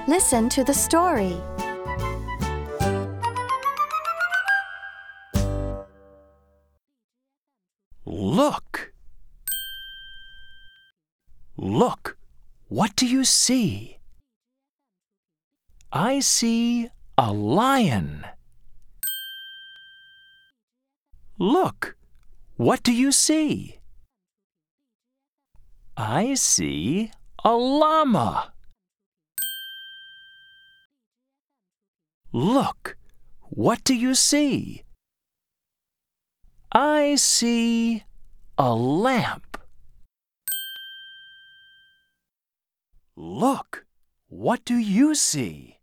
Listen to the story. Look! Look! What do you see? I see a lion. Look! What do you see? I see a llama. Look! What do you see? I see a lamp. Look! What do you see?